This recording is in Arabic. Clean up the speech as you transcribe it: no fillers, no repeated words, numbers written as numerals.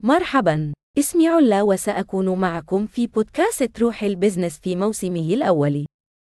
مرحبا، اسمي علا وسأكون معكم في بودكاست روح البزنس في موسمه الأول.